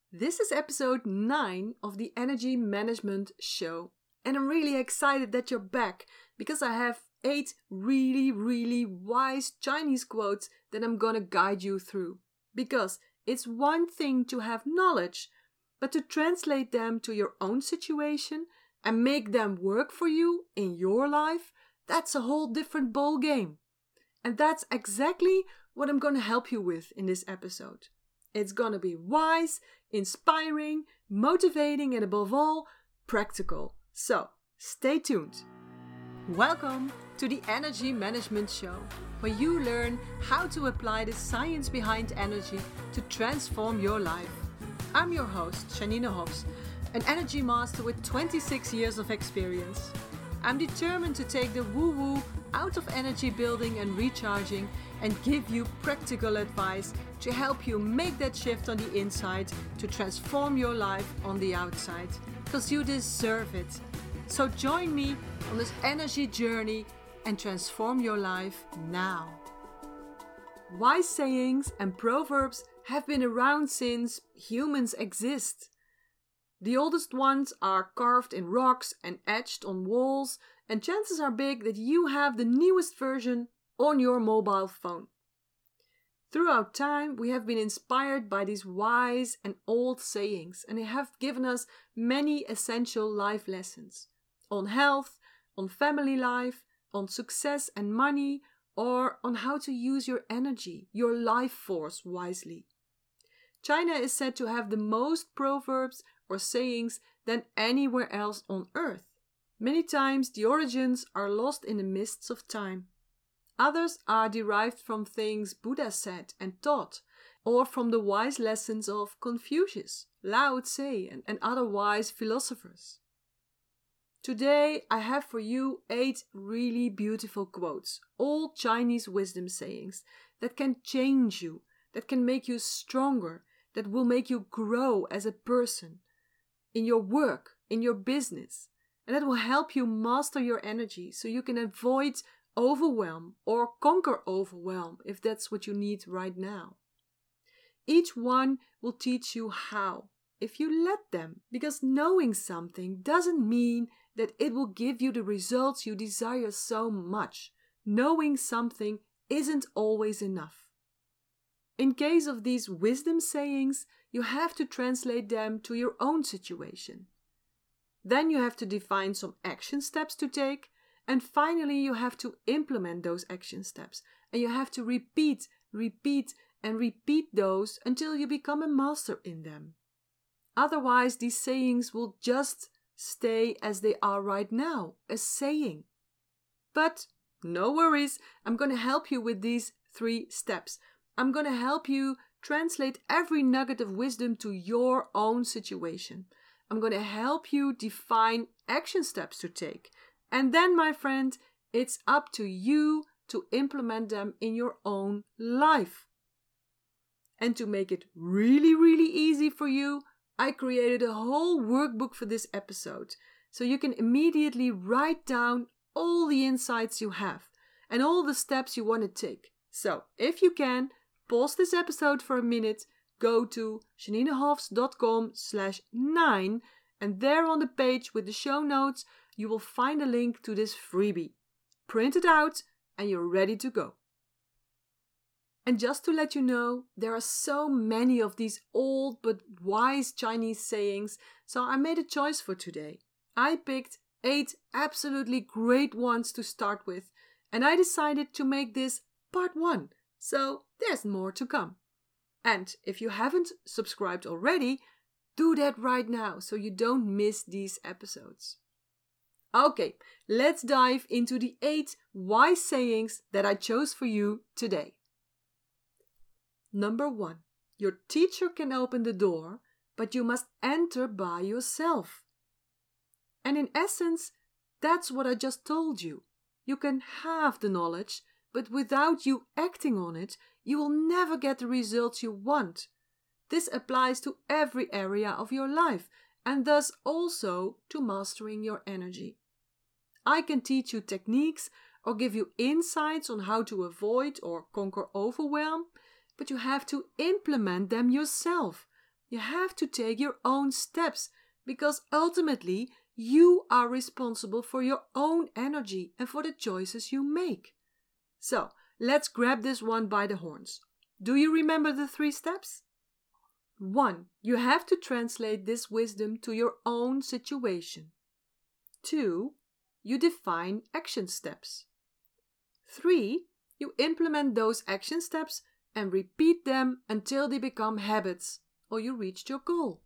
This is episode 9 of the Energy Management Show. And I'm really excited that you're back because I have 8 really wise Chinese quotes that I'm gonna guide you through. Because it's one thing to have knowledge, but to translate them to your own situation and make them work for you in your life, that's a whole different ball game. And that's exactly what I'm gonna help you with in this episode. It's gonna be wise, inspiring, motivating, and above all, practical. So, stay tuned. Welcome to the Energy Management Show, where you learn how to apply the science behind energy to transform your life. I'm your host, Janine Hofs, an energy master with 26 years of experience. I'm determined to take the woo-woo out of energy building and recharging and give you practical advice to help you make that shift on the inside to transform your life on the outside. Because you deserve it. So join me on this energy journey and transform your life now. Wise sayings and proverbs have been around since humans exist. The oldest ones are carved in rocks and etched on walls, and chances are big that you have the newest version on your mobile phone. Throughout time, we have been inspired by these wise and old sayings, and they have given us many essential life lessons on health, on family life, on success and money, or on how to use your energy, your life force wisely. China is said to have the most proverbs or sayings than anywhere else on earth. Many times the origins are lost in the mists of time. Others are derived from things Buddha said and taught, or from the wise lessons of Confucius, Lao Tse, and other wise philosophers. Today I have for you 8 really beautiful quotes, all Chinese wisdom sayings that can change you, that can make you stronger, that will make you grow as a person, in your work, in your business, and that will help you master your energy so you can avoid overwhelm or conquer overwhelm if that's what you need right now. Each one will teach you how, if you let them, because knowing something doesn't mean that it will give you the results you desire so much. Knowing something isn't always enough. In case of these wisdom sayings, you have to translate them to your own situation. Then you have to define some action steps to take, and finally you have to implement those action steps, and you have to repeat those until you become a master in them. Otherwise, these sayings will just stay as they are right now, a saying. But no worries, I'm going to help you with these 3 steps. I'm going to help you translate every nugget of wisdom to your own situation. I'm going to help you define action steps to take. And then, my friend, it's up to you to implement them in your own life. And to make it really easy for you, I created a whole workbook for this episode. So you can immediately write down all the insights you have and all the steps you want to take. So, if you can, pause this episode for a minute, go to janinehofs.com/9, and there on the page with the show notes, you will find a link to this freebie. Print it out and you're ready to go. And just to let you know, there are so many of these old but wise Chinese sayings, so I made a choice for today. I picked 8 absolutely great ones to start with, and I decided to make this part 1. So there's more to come. And if you haven't subscribed already, do that right now so you don't miss these episodes. Okay, let's dive into the 8 wise sayings that I chose for you today. Number 1. Your teacher can open the door, but you must enter by yourself. And in essence, that's what I just told you. You can have the knowledge, but without you acting on it, you will never get the results you want. This applies to every area of your life, and thus also to mastering your energy. I can teach you techniques or give you insights on how to avoid or conquer overwhelm, but you have to implement them yourself. You have to take your own steps because ultimately you are responsible for your own energy and for the choices you make. So, let's grab this one by the horns. Do you remember the 3 steps? 1. You have to translate this wisdom to your own situation. 2. You define action steps. 3. You implement those action steps and repeat them until they become habits or you reached your goal.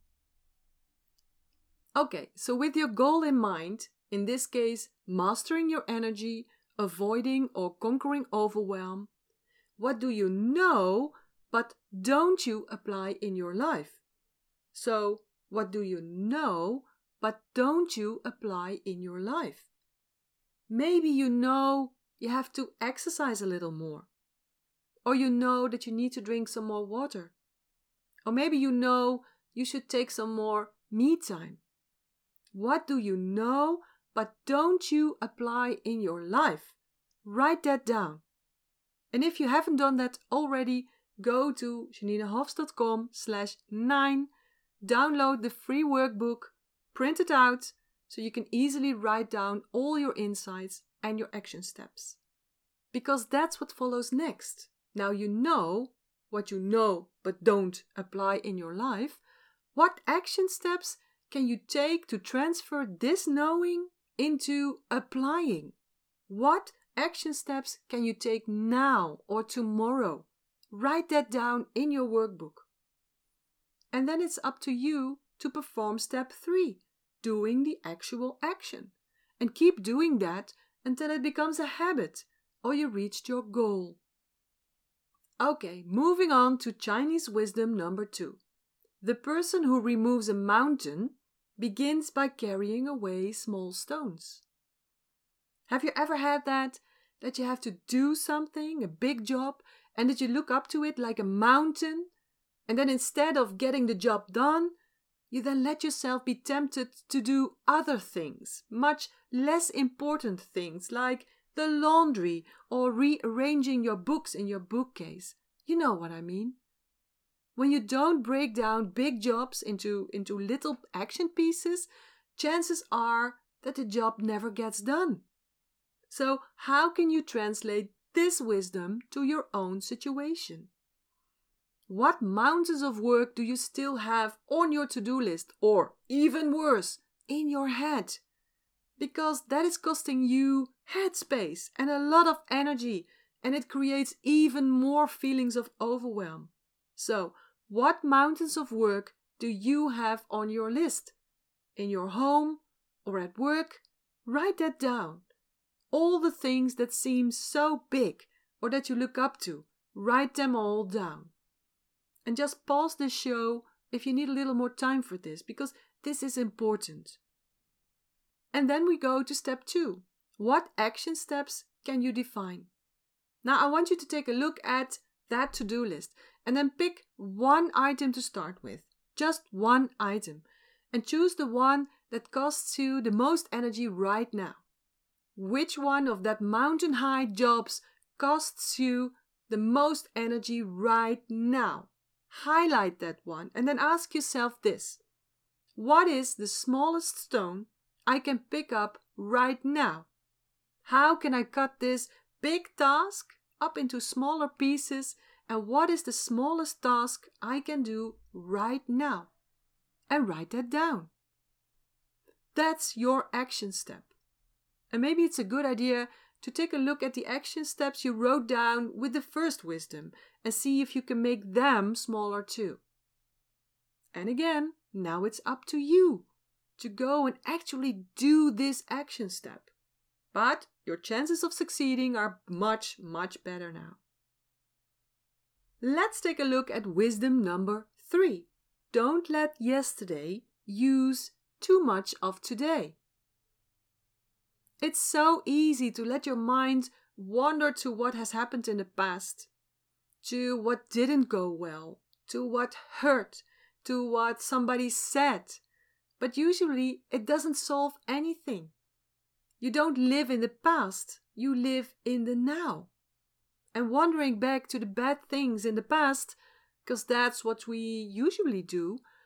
Okay, so with your goal in mind, in this case, mastering your energy, avoiding or conquering overwhelm, what do you know but don't you apply in your life? So, what do you know but don't you apply in your life? Maybe you know you have to exercise a little more. Or you know that you need to drink some more water. Or maybe you know you should take some more me time. What do you know but don't you apply in your life? Write that down. And if you haven't done that already, go to janinehofs.com/9, download the free workbook, print it out so you can easily write down all your insights and your action steps. Because that's what follows next. Now you know what you know but don't apply in your life. What action steps can you take to transfer this knowing into applying? What action steps can you take now or tomorrow? Write that down in your workbook. And then it's up to you to perform step 3, doing the actual action. And keep doing that until it becomes a habit or you reached your goal. Okay, moving on to Chinese wisdom number 2. The person who removes a mountain begins by carrying away small stones. Have you ever had that you have to do something, a big job, and that you look up to it like a mountain, and then instead of getting the job done, you then let yourself be tempted to do other things, much less important things like the laundry or rearranging your books in your bookcase. You know what I mean. When you don't break down big jobs into little action pieces, chances are that the job never gets done. So how can you translate this wisdom to your own situation? What mountains of work do you still have on your to-do list, or even worse, in your head? Because that is costing you headspace and a lot of energy, and it creates even more feelings of overwhelm. So, what mountains of work do you have on your list? In your home or at work? Write that down. All the things that seem so big or that you look up to, write them all down. And just pause the show if you need a little more time for this, because this is important. And then we go to step 2. What action steps can you define? Now I want you to take a look at that to-do list and then pick one item to start with. Just one item. And choose the one that costs you the most energy right now. Which one of that mountain-high jobs costs you the most energy right now? Highlight that one and then ask yourself this. What is the smallest stone I can pick up right now? How can I cut this big task up into smaller pieces, and what is the smallest task I can do right now? And write that down. That's your action step. And maybe it's a good idea to take a look at the action steps you wrote down with the first wisdom and see if you can make them smaller too. And again, now it's up to you to go and actually do this action step. But your chances of succeeding are much, much better now. Let's take a look at wisdom number 3. Don't let yesterday use too much of today. It's so easy to let your mind wander to what has happened in the past, to what didn't go well, to what hurt, to what somebody said. But usually it doesn't solve anything. You don't live in the past, you live in the now. And wandering back to the bad things in the past, because that's what we usually do,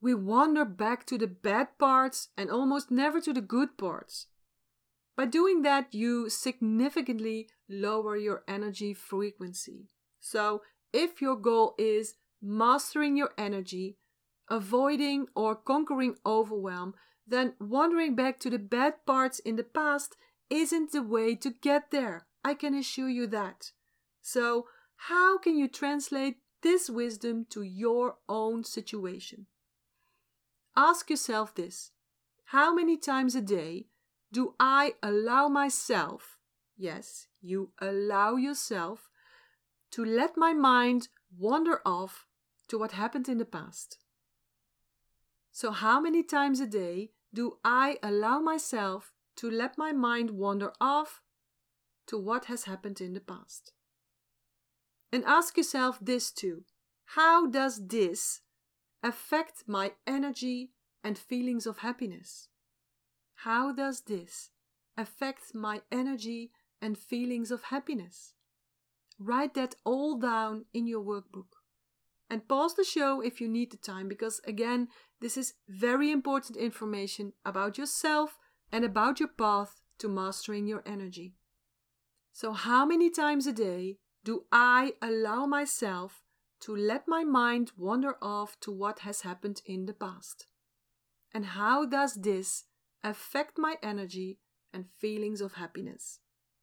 we wander back to the bad parts and almost never to the good parts. By doing that, you significantly lower your energy frequency. So, if your goal is mastering your energy, avoiding or conquering overwhelm, then wandering back to the bad parts in the past isn't the way to get there. I can assure you that. So, how can you translate this wisdom to your own situation? Ask yourself this: how many times a day do I allow myself, yes, you allow yourself, to let my mind wander off to what happened in the past? So how many times a day do I allow myself to let my mind wander off to what has happened in the past? And ask yourself this too: how does this affect my energy and feelings of happiness? How does this affect my energy and feelings of happiness? Write that all down in your workbook. And pause the show if you need the time, because again, this is very important information about yourself and about your path to mastering your energy. So how many times a day do I allow myself to let my mind wander off to what has happened in the past? And how does this affect my energy and feelings of happiness?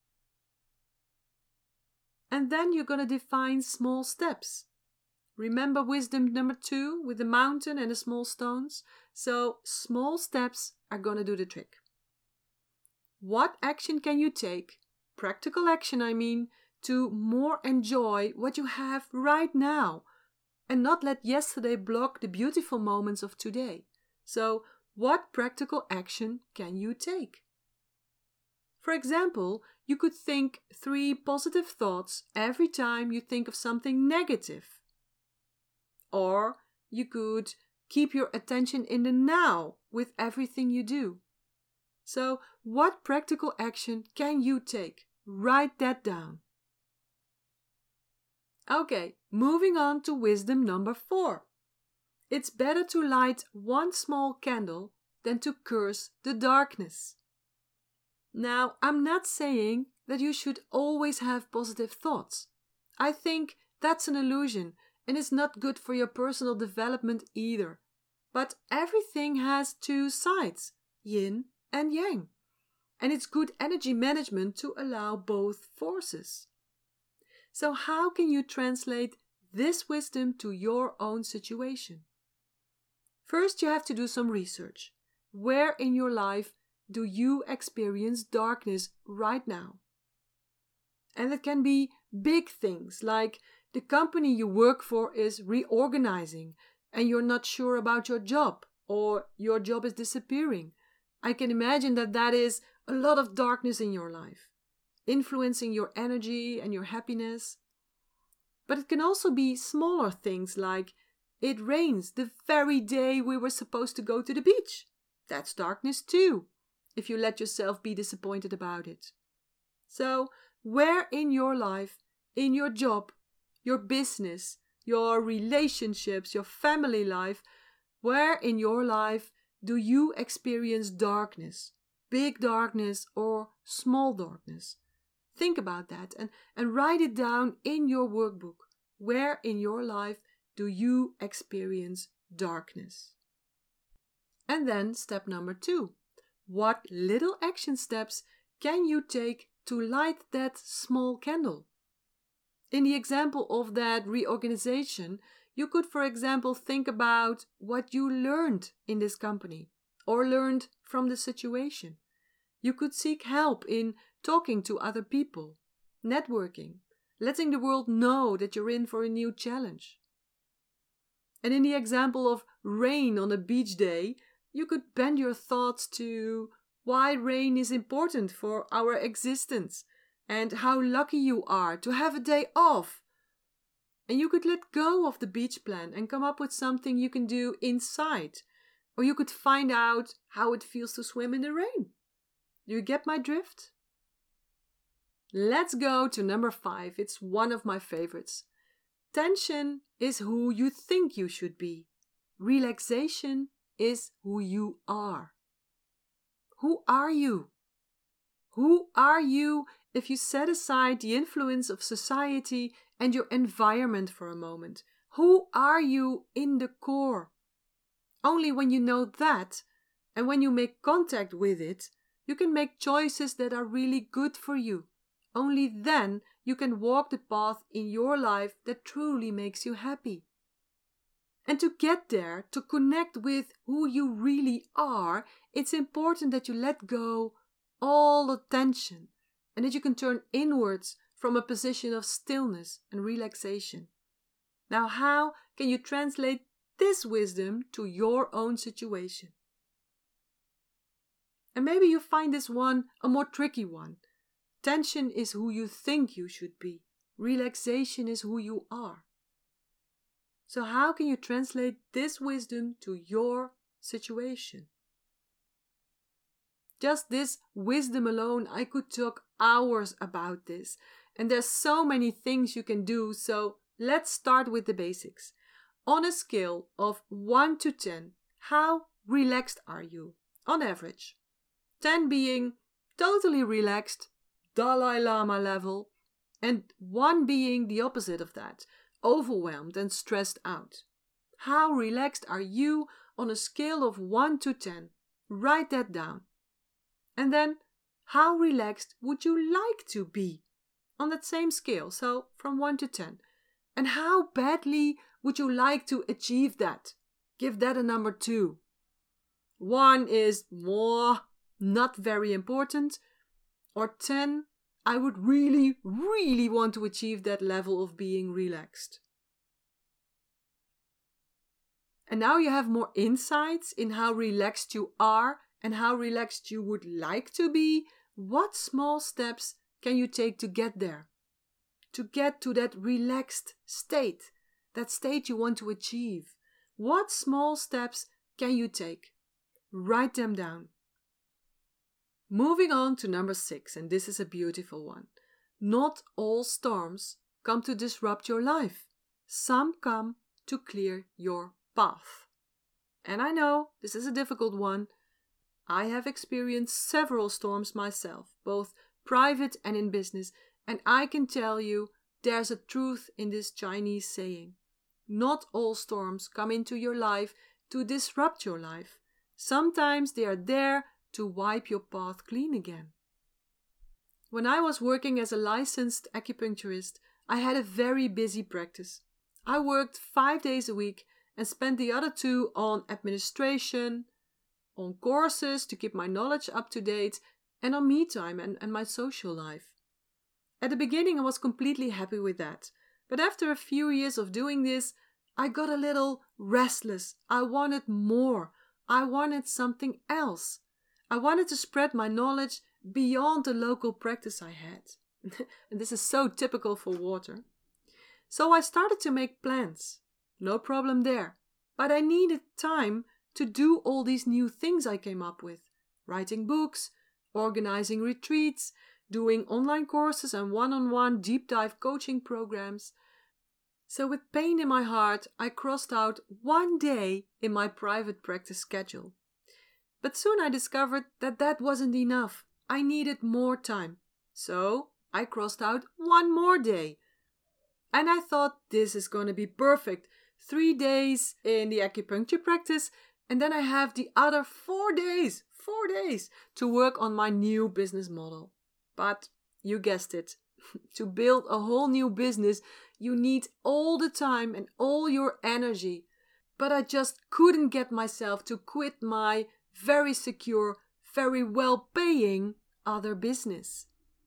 And then you're going to define small steps. Remember wisdom number 2 with the mountain and the small stones? So small steps are going to do the trick. What action can you take, practical action I mean, to more enjoy what you have right now and not let yesterday block the beautiful moments of today? So what practical action can you take? For example, you could think 3 positive thoughts every time you think of something negative. Or you could keep your attention in the now with everything you do. So, what practical action can you take? Write that down. Okay, moving on to wisdom number 4. It's better to light one small candle than to curse the darkness. Now, I'm not saying that you should always have positive thoughts. I think that's an illusion and it's not good for your personal development either. But everything has 2 sides, yin and yang. And it's good energy management to allow both forces. So how can you translate this wisdom to your own situation? First, you have to do some research. Where in your life do you experience darkness right now? And it can be big things, like the company you work for is reorganizing and you're not sure about your job, or your job is disappearing. I can imagine that that is a lot of darkness in your life, influencing your energy and your happiness. But it can also be smaller things, like it rains the very day we were supposed to go to the beach. That's darkness too, if you let yourself be disappointed about it. So, where in your life, in your job, your business, your relationships, your family life, where in your life do you experience darkness? Big darkness or small darkness? Think about that and write it down in your workbook. Where in your life do you experience darkness? And then step number 2. What little action steps can you take to light that small candle? In the example of that reorganization, you could, for example, think about what you learned in this company or learned from the situation. You could seek help in talking to other people, networking, letting the world know that you're in for a new challenge. And in the example of rain on a beach day, you could bend your thoughts to why rain is important for our existence and how lucky you are to have a day off. And you could let go of the beach plan and come up with something you can do inside. Or you could find out how it feels to swim in the rain. Do you get my drift? Let's go to number 5. It's one of my favorites. Tension is who you think you should be, Relaxation is who you are. Who are you? Who are you if you set aside the influence of society and your environment for a moment? Who are you in the core? Only when you know that, and when you make contact with it, you can make choices that are really good for you. Only then you can walk the path in your life that truly makes you happy. And to get there, to connect with who you really are, it's important that you let go all the tension and that you can turn inwards from a position of stillness and relaxation. Now, how can you translate this wisdom to your own situation? And maybe you find this one a more tricky one. Tension is who you think you should be. Relaxation is who you are. So how can you translate this wisdom to your situation? Just this wisdom alone, I could talk hours about this. And there's so many things you can do, so let's start with the basics. On a scale of 1 to 10, how relaxed are you, on average? 10 being totally relaxed, Dalai Lama level, and 1 being the opposite of that, overwhelmed and stressed out. How relaxed are you on a scale of 1 to 10? Write that down. And then, how relaxed would you like to be on that same scale, so from 1 to 10? And how badly would you like to achieve that? Give that a number 2. 1 is more, not very important, or 10, I would really, really want to achieve that level of being relaxed. And now you have more insights in how relaxed you are and how relaxed you would like to be. What small steps can you take to get there? To get to that relaxed state, that state you want to achieve. What small steps can you take? Write them down. Moving on to number 6, and this is a beautiful one. Not all storms come to disrupt your life. Some come to clear your path. And I know this is a difficult one. I have experienced several storms myself, both private and in business, and I can tell you there's a truth in this Chinese saying. Not all storms come into your life to disrupt your life. Sometimes they are there to wipe your path clean again. When I was working as a licensed acupuncturist, I had a very busy practice. I worked 5 days a week and spent the other 2 on administration, on courses to keep my knowledge up to date, and on me time and my social life. At the beginning I was completely happy with that, but after a few years of doing this, I got a little restless. I wanted more. I wanted something else. I wanted to spread my knowledge beyond the local practice I had. And this is so typical for water. So I started to make plans. No problem there. But I needed time to do all these new things I came up with. Writing books, organizing retreats, doing online courses and one-on-one deep dive coaching programs. So with pain in my heart, I crossed out 1 day in my private practice schedule. But soon I discovered that that wasn't enough. I needed more time. So I crossed out 1 more day. And I thought this is going to be perfect. 3 days in the acupuncture practice, and then I have the other 4 days to work on my new business model. But you guessed it. To build a whole new business, you need all the time and all your energy. But I just couldn't get myself to quit my very secure, very well-paying other business.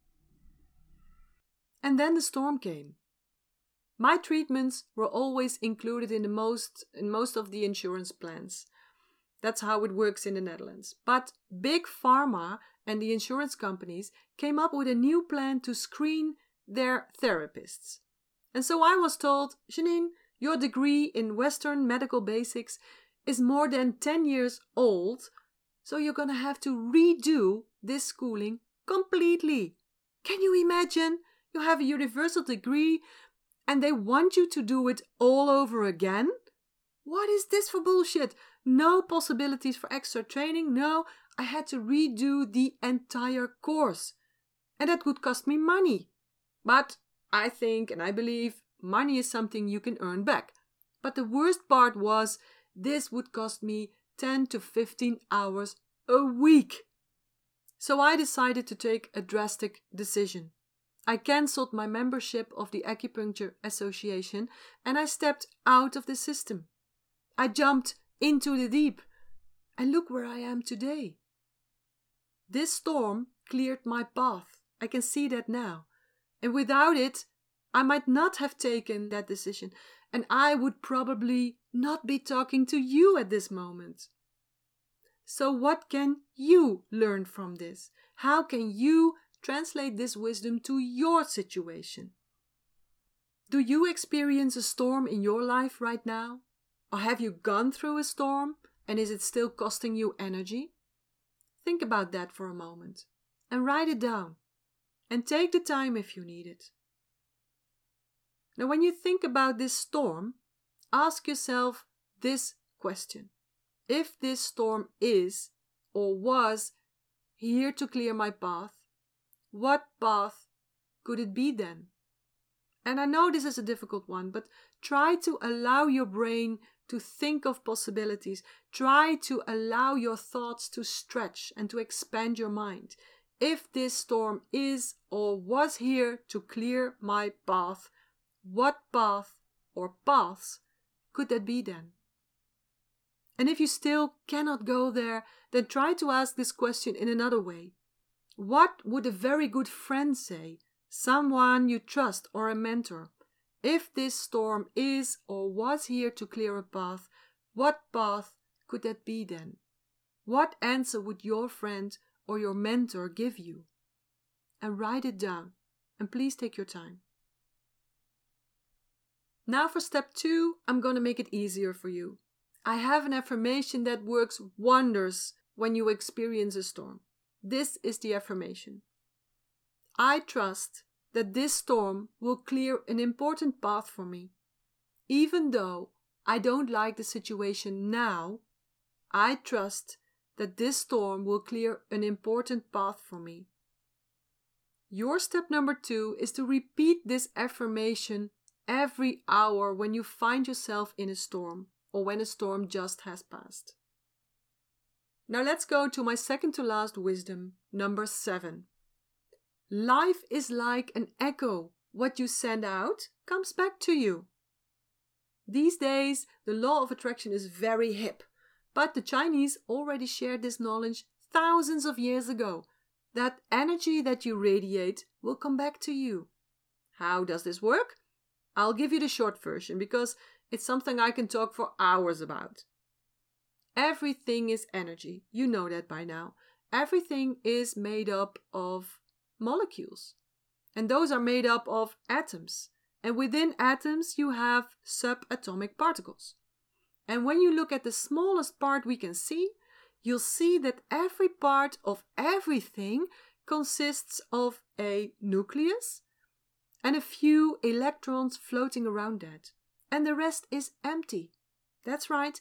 And then the storm came. My treatments were always included in most of the insurance plans. That's how it works in the Netherlands. But Big Pharma and the insurance companies came up with a new plan to screen their therapists. And so I was told, Janine, your degree in Western medical basics is more than 10 years old, so you're going to have to redo this schooling completely. Can you imagine? You have a universal degree and they want you to do it all over again? What is this for bullshit? No possibilities for extra training. No, I had to redo the entire course. And that would cost me money. But I think and I believe money is something you can earn back. But the worst part was this would cost me 10 to 15 hours a week. So I decided to take a drastic decision. I cancelled my membership of the Acupuncture Association and I stepped out of the system. I jumped into the deep. And look where I am today. This storm cleared my path. I can see that now. And without it, I might not have taken that decision. And I would probably not be talking to you at this moment. So what can you learn from this? How can you translate this wisdom to your situation? Do you experience a storm in your life right now? Or have you gone through a storm and is it still costing you energy? Think about that for a moment and write it down. And take the time if you need it. Now, when you think about this storm, ask yourself this question. If this storm is or was here to clear my path, what path could it be then? And I know this is a difficult one, but try to allow your brain to think of possibilities. Try to allow your thoughts to stretch and to expand your mind. If this storm is or was here to clear my path, what path or paths could that be then? And if you still cannot go there, then try to ask this question in another way. What would a very good friend say? Someone you trust or a mentor. If this storm is or was here to clear a path, what path could that be then? What answer would your friend or your mentor give you? And write it down. And please take your time. Now for step 2, I'm going to make it easier for you. I have an affirmation that works wonders when you experience a storm. This is the affirmation. I trust that this storm will clear an important path for me. Even though I don't like the situation now, I trust that this storm will clear an important path for me. Your step number 2 is to repeat this affirmation every hour when you find yourself in a storm or when a storm just has passed. Now let's go to my second to last wisdom, number 7. Life is like an echo. What you send out comes back to you. These days, the law of attraction is very hip, but the Chinese already shared this knowledge thousands of years ago, that energy that you radiate will come back to you. How does this work? I'll give you the short version because it's something I can talk for hours about. Everything is energy. You know that by now. Everything is made up of molecules. And those are made up of atoms. And within atoms you have subatomic particles. And when you look at the smallest part we can see, you'll see that every part of everything consists of a nucleus and a few electrons floating around that. And the rest is empty. That's right,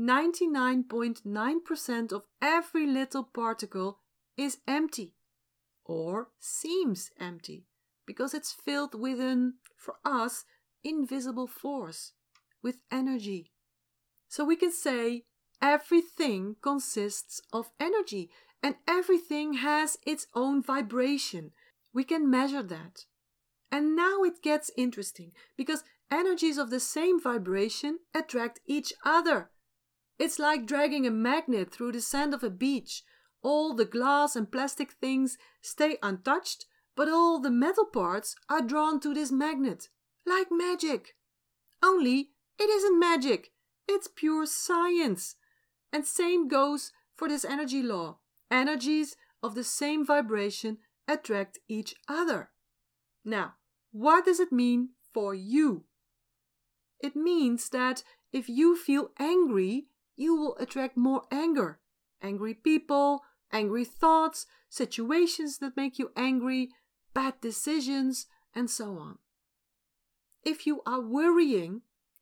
99.9% of every little particle is empty. Or seems empty, because it's filled with an, for us, invisible force, with energy. So we can say everything consists of energy, and everything has its own vibration. We can measure that. And now it gets interesting, because energies of the same vibration attract each other. It's like dragging a magnet through the sand of a beach. All the glass and plastic things stay untouched, but all the metal parts are drawn to this magnet, like magic. Only it isn't magic, it's pure science. And same goes for this energy law. Energies of the same vibration attract each other. Now, what does it mean for you? It means that if you feel angry, you will attract more anger. Angry people, angry thoughts, situations that make you angry, bad decisions, and so on. If you are worrying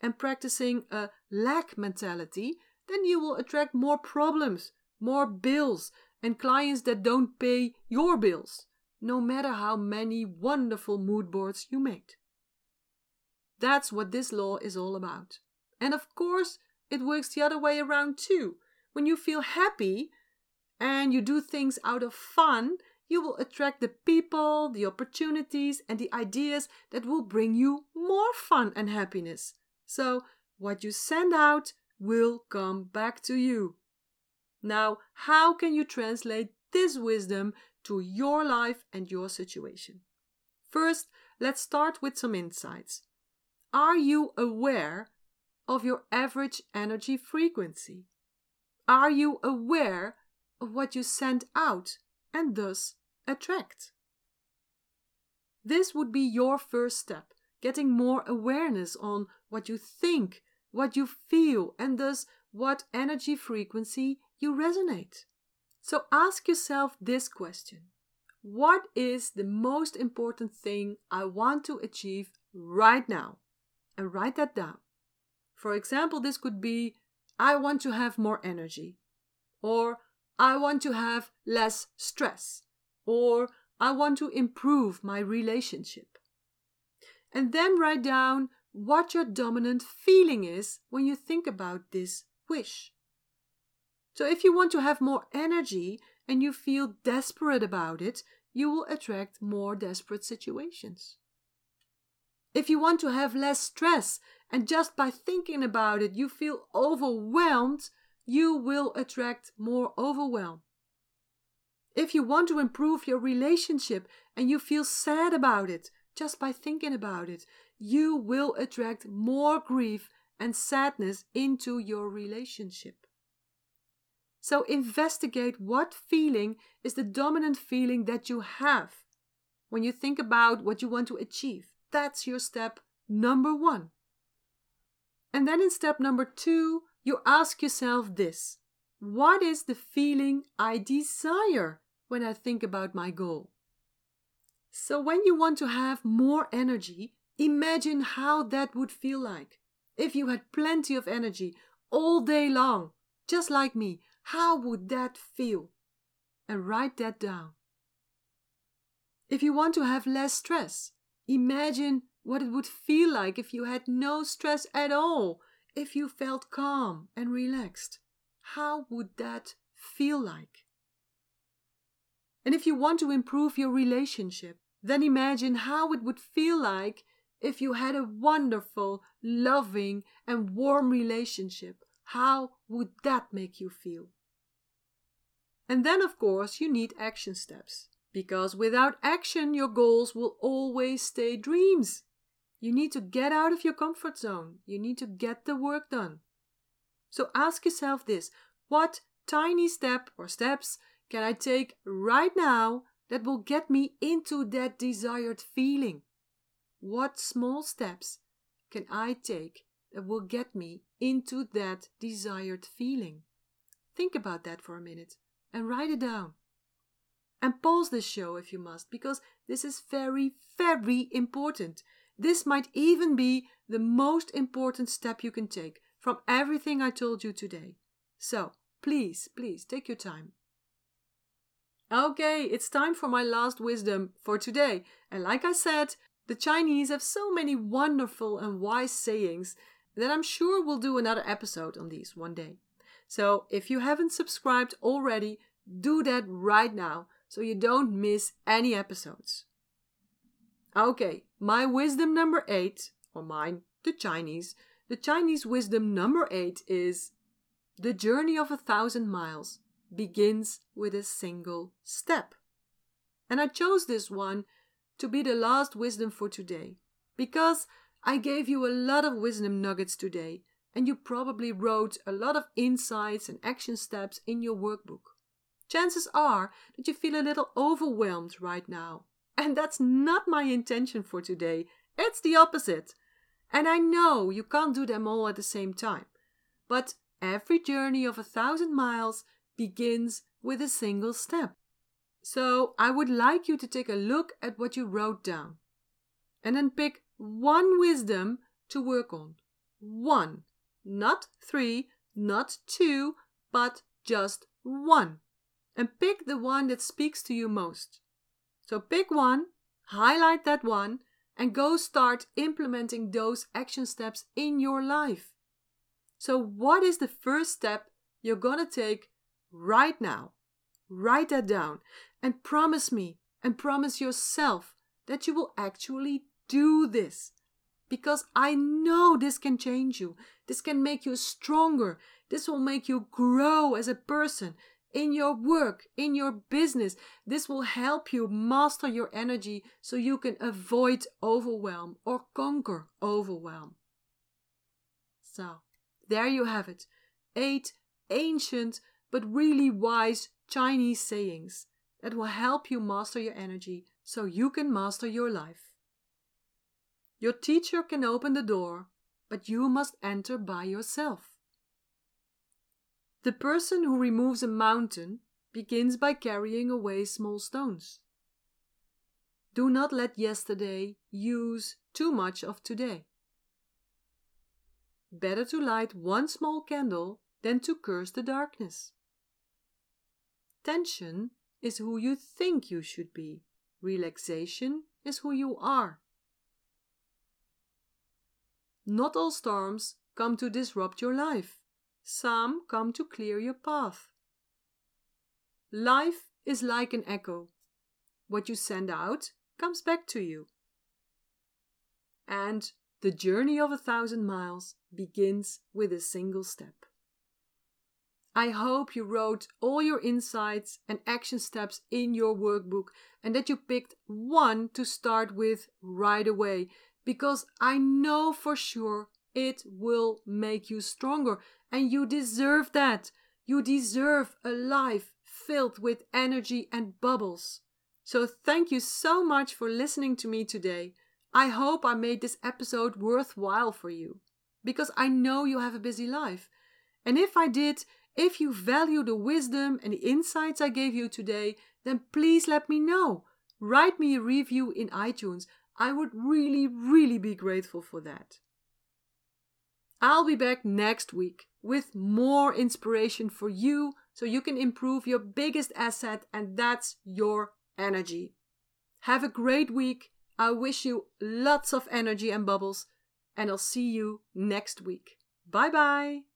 and practicing a lack mentality, then you will attract more problems, more bills, and clients that don't pay your bills, no matter how many wonderful mood boards you made. That's what this law is all about. And of course, it works the other way around too. When you feel happy and you do things out of fun, you will attract the people, the opportunities, and the ideas that will bring you more fun and happiness. So, what you send out will come back to you. Now, how can you translate this wisdom to your life and your situation? First, let's start with some insights. Are you aware of your average energy frequency? Are you aware of what you send out and thus attract? This would be your first step, getting more awareness on what you think, what you feel, and thus what energy frequency you resonate. So ask yourself this question: what is the most important thing I want to achieve right now? And write that down. For example, this could be, I want to have more energy, or I want to have less stress, or I want to improve my relationship. And then write down what your dominant feeling is when you think about this wish. So if you want to have more energy and you feel desperate about it, you will attract more desperate situations. If you want to have less stress and just by thinking about it you feel overwhelmed, you will attract more overwhelm. If you want to improve your relationship and you feel sad about it, just by thinking about it, you will attract more grief and sadness into your relationship. So investigate what feeling is the dominant feeling that you have when you think about what you want to achieve. That's your step number 1. And then in step number 2, you ask yourself this: what is the feeling I desire when I think about my goal? So when you want to have more energy, imagine how that would feel like. If you had plenty of energy all day long, just like me, how would that feel? And write that down. If you want to have less stress, imagine what it would feel like if you had no stress at all, if you felt calm and relaxed. How would that feel like? And if you want to improve your relationship, then imagine how it would feel like if you had a wonderful, loving, and warm relationship. How would that make you feel? And then, of course, you need action steps. Because without action, your goals will always stay dreams. You need to get out of your comfort zone. You need to get the work done. So ask yourself this: what tiny step or steps can I take right now that will get me into that desired feeling? What small steps can I take that will get me into that desired feeling? Think about that for a minute and write it down. And pause this show if you must, because this is very, very important. This might even be the most important step you can take from everything I told you today. So, please, take your time. Okay, it's time for my last wisdom for today. And like I said, the Chinese have so many wonderful and wise sayings that I'm sure we'll do another episode on these one day. So, if you haven't subscribed already, do that right now, so you don't miss any episodes. Okay, my wisdom number 8, or mine, the Chinese wisdom number 8 is: the journey of 1,000 miles begins with a single step. And I chose this one to be the last wisdom for today, because I gave you a lot of wisdom nuggets today, and you probably wrote a lot of insights and action steps in your workbook. Chances are that you feel a little overwhelmed right now. And that's not my intention for today. It's the opposite. And I know you can't do them all at the same time. But every journey of 1,000 miles begins with a single step. So I would like you to take a look at what you wrote down. And then pick one wisdom to work on. 1. Not 3, not 2, but just 1. And pick the one that speaks to you most. So pick one, highlight that one, and go start implementing those action steps in your life. So what is the first step you're gonna take right now? Write that down and promise me and promise yourself that you will actually do this. Because I know this can change you. This can make you stronger. This will make you grow as a person in your work, in your business. This will help you master your energy so you can avoid overwhelm or conquer overwhelm. So, there you have it. 8 ancient but really wise Chinese sayings that will help you master your energy so you can master your life. Your teacher can open the door, but you must enter by yourself. The person who removes a mountain begins by carrying away small stones. Do not let yesterday use too much of today. Better to light one small candle than to curse the darkness. Tension is who you think you should be. Relaxation is who you are. Not all storms come to disrupt your life. Some come to clear your path. Life is like an echo. What you send out comes back to you. And the journey of 1,000 miles begins with a single step. I hope you wrote all your insights and action steps in your workbook and that you picked one to start with right away, because I know for sure it will make you stronger, and you deserve that. You deserve a life filled with energy and bubbles. So thank you so much for listening to me today. I hope I made this episode worthwhile for you, because I know you have a busy life. And if I did, if you value the wisdom and the insights I gave you today, then please let me know. Write me a review in iTunes. I would really be grateful for that. I'll be back next week with more inspiration for you so you can improve your biggest asset, and that's your energy. Have a great week. I wish you lots of energy and bubbles, and I'll see you next week. Bye bye.